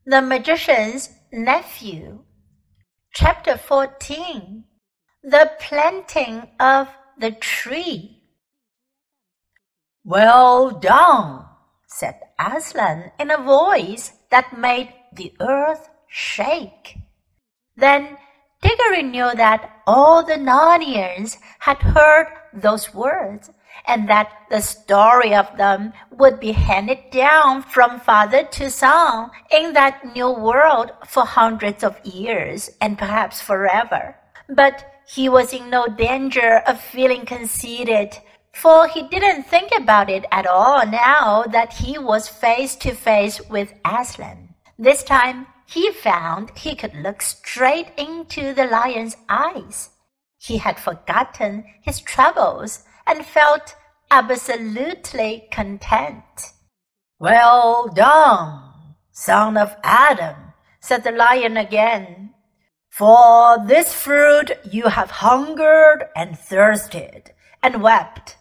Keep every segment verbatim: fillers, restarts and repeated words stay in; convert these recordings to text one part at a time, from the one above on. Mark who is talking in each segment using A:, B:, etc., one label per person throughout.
A: The Magician's Nephew. Chapter fourteen. The Planting of the Tree. "Well done," said Aslan in a voice that made the earth shake. Then Diggory knew that all the Narnians had heard those words, and that the story of them would be handed down from father to son in that new world for hundreds of years and perhaps forever. But he was in no danger of feeling conceited, for he didn't think about it at all now that he was face to face with Aslan. This time he found he could look straight into the lion's eyes. He had forgotten his troubles and felt absolutely content. "Well done, son of Adam," said the lion again. "For this fruit you have hungered and thirsted and wept.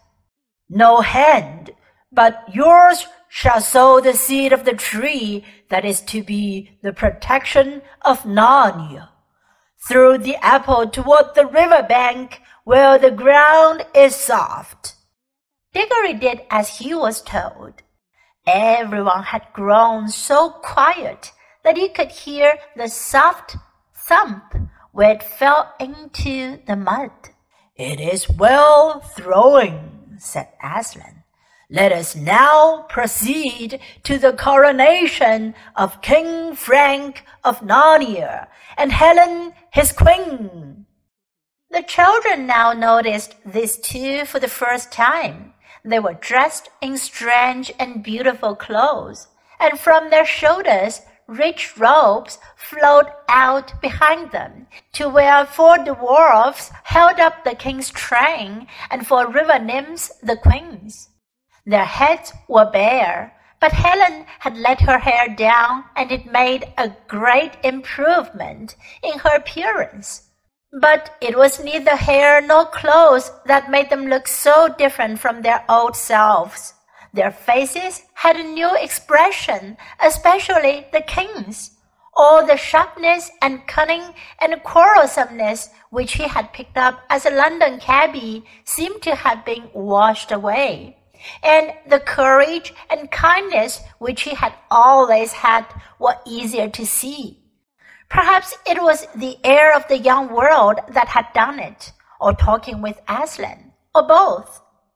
A: No hand but yours shall sow the seed of the tree that is to be the protection of Narnia. Throw the apple toward the river bank where the ground is soft." Diggory did as he was told. Everyone had grown so quiet that you could hear the soft thump where it fell into the mud. "It is well throwing," said Aslan. "Let us now proceed to the coronation of King Frank of Narnia and Helen his queen." The children now noticed these two for the first time. They were dressed in strange and beautiful clothes, and from their shoulders rich robes flowed out behind them, to where four dwarfs held up the king's train, and four river nymphs the queen's. Their heads were bare, but Helen had let her hair down, and it made a great improvement in her appearance. But it was neither hair nor clothes that made them look so different from their old selves. Their faces had a new expression, especially the king's. All the sharpness and cunning and quarrelsomeness which he had picked up as a London cabby seemed to have been washed away, and the courage and kindness which he had always had were easier to see. Perhaps it was the air of the young world that had done it, or talking with Aslan, or both.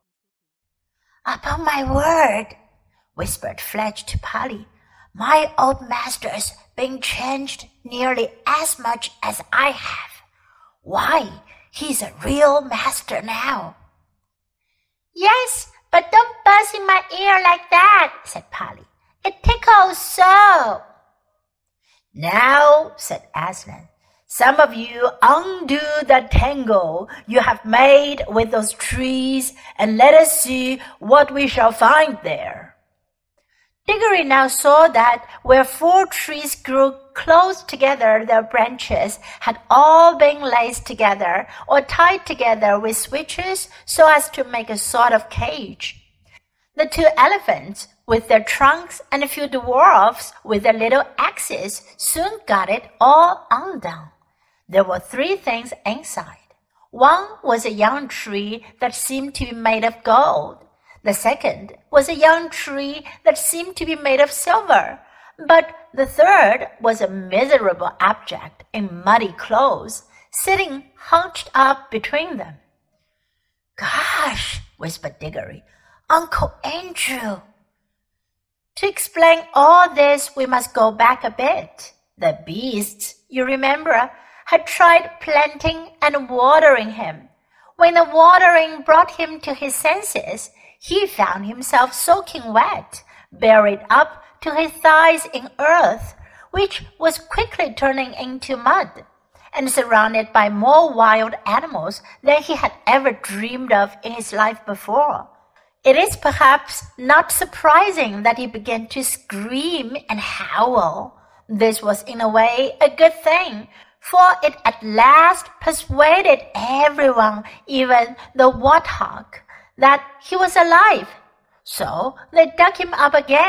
A: "Upon my word," whispered Fletch to Polly, "my old master's been changed nearly as much as I have. Why, he's a real master now." "Yes, but don't buzz in my ear like that," said Polly. "It tickles so." "Now," said Aslan, "some of you undo the tangle you have made with those trees, and let us see what we shall find there." Diggory now saw that where four trees grew close together, their branches had all been laced together or tied together with switches so as to make a sort of cage. The two elephants, with their trunks, and a few dwarfs with their little axes, soon got it all undone. There were three things inside. One was a young tree that seemed to be made of gold. The second was a young tree that seemed to be made of silver. But the third was a miserable object in muddy clothes, sitting hunched up between them. "Gosh," whispered Diggory, "Uncle Andrew." To explain all this, we must go back a bit. The beasts, you remember, had tried planting and watering him. When the watering brought him to his senses, he found himself soaking wet, buried up to his thighs in earth, which was quickly turning into mud, and surrounded by more wild animals than he had ever dreamed of in his life before. It is perhaps not surprising that he began to scream and howl. This was in a way a good thing, for it at last persuaded everyone, even the warthog, that he was alive. So they dug him up again,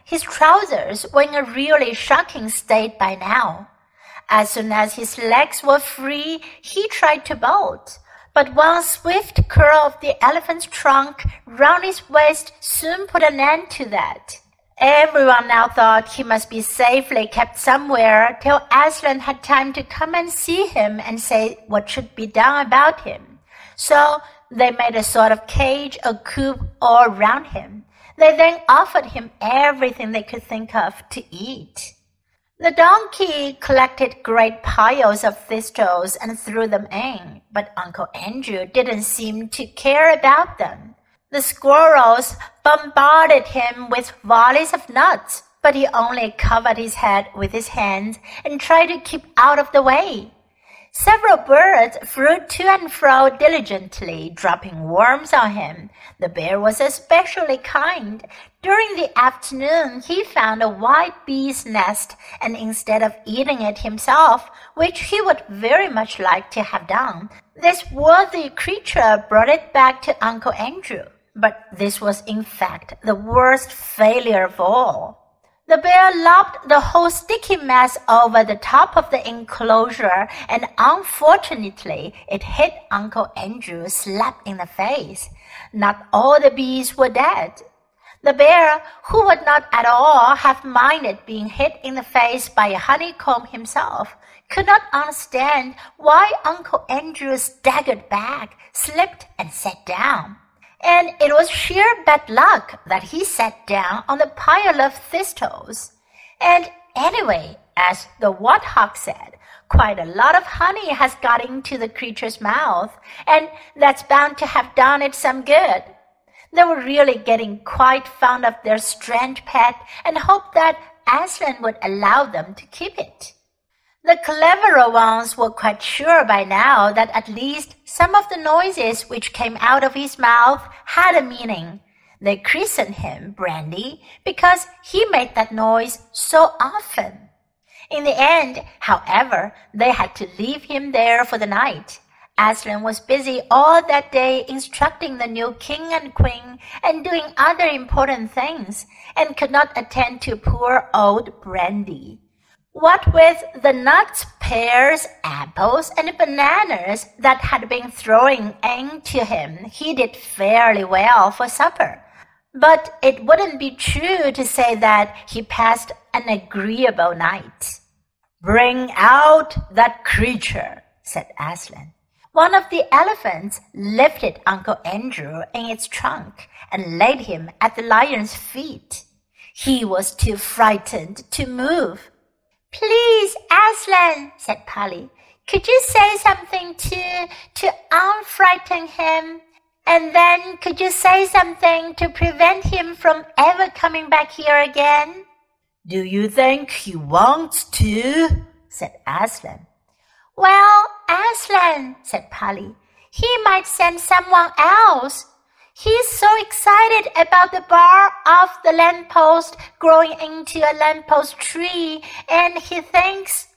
A: his trousers were in a really shocking state by now. As soon as his legs were free, he tried to bolt, but one swift curl of the elephant's trunk round his waist soon put an end to that. Everyone now thought he must be safely kept somewhere till Aslan had time to come and see him and say what should be done about him. So they made a sort of cage or coop all round him. They then offered him everything they could think of to eat. The donkey collected great piles of thistles and threw them in, but Uncle Andrew didn't seem to care about them. The squirrels bombarded him with volleys of nuts, but he only covered his head with his hands and tried to keep out of the way. Several birds flew to and fro diligently, dropping worms on him. The bear was especially kind. During the afternoon, he found a white bee's nest, and instead of eating it himself, which he would very much like to have done, this worthy creature brought it back to Uncle Andrew. But this was in fact the worst failure of all. The bear lobbed the whole sticky mass over the top of the enclosure, and unfortunately it hit Uncle Andrew slap in the face. Not all the bees were dead. The bear, who would not at all have minded being hit in the face by a honeycomb himself, could not understand why Uncle Andrew staggered back, slipped, and sat down. And it was sheer bad luck that he sat down on the pile of thistles. And anyway, as the warthog said, quite a lot of honey has got into the creature's mouth, and that's bound to have done it some good. They were really getting quite fond of their strange pet and hoped that Aslan would allow them to keep it. The cleverer ones were quite sure by now that at least some of the noises which came out of his mouth had a meaning. They christened him Brandy because he made that noise so often. In the end, however, they had to leave him there for the night. Aslan was busy all that day instructing the new king and queen and doing other important things, and could not attend to poor old Brandy. What with the nuts, pears, apples, and bananas that had been thrown in to him, he did fairly well for supper. But it wouldn't be true to say that he passed an agreeable night. "Bring out that creature," said Aslan. One of the elephants lifted Uncle Andrew in its trunk and laid him at the lion's feet. He was too frightened to move. "Please, Aslan," said Polly, "could you say something to, to unfrighten him? And then could you say something to prevent him from ever coming back here again?" "Do you think he wants to?" said Aslan. "Well, Aslan," said Polly, "he might send someone else. He's so excited about the bar of the lamppost growing into a lamppost tree, and he thinks—"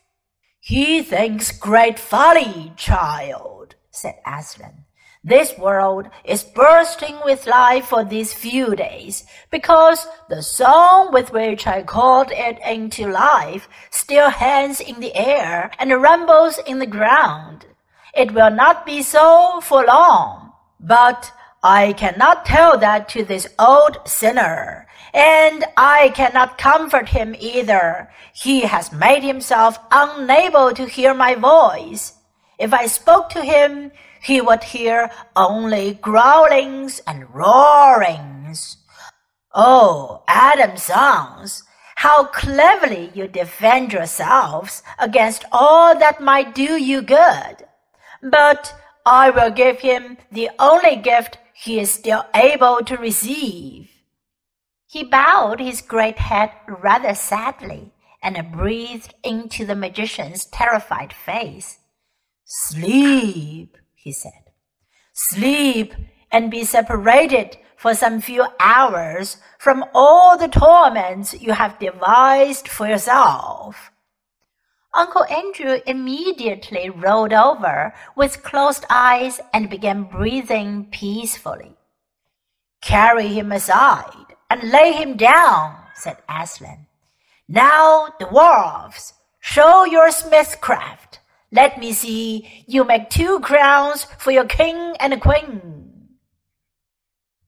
A: "He thinks great folly, child," said Aslan. "This world is bursting with life for these few days, because the song with which I called it into life still hangs in the air and rumbles in the ground. It will not be so for long, but I cannot tell that to this old sinner, and I cannot comfort him either. He has made himself unable to hear my voice. If I spoke to him, he would hear only growlings and roarings. Oh, Adam's sons, how cleverly you defend yourselves against all that might do you good. But I will give him the only gift he is still able to receive." He bowed his great head rather sadly and breathed into the magician's terrified face. "Sleep," he said. "Sleep and be separated for some few hours from all the torments you have devised for yourself." Uncle Andrew immediately rolled over with closed eyes and began breathing peacefully. "Carry him aside and lay him down," said Aslan. Now, dwarfs, show your smithcraft. Let me see you make two crowns for your king and queen.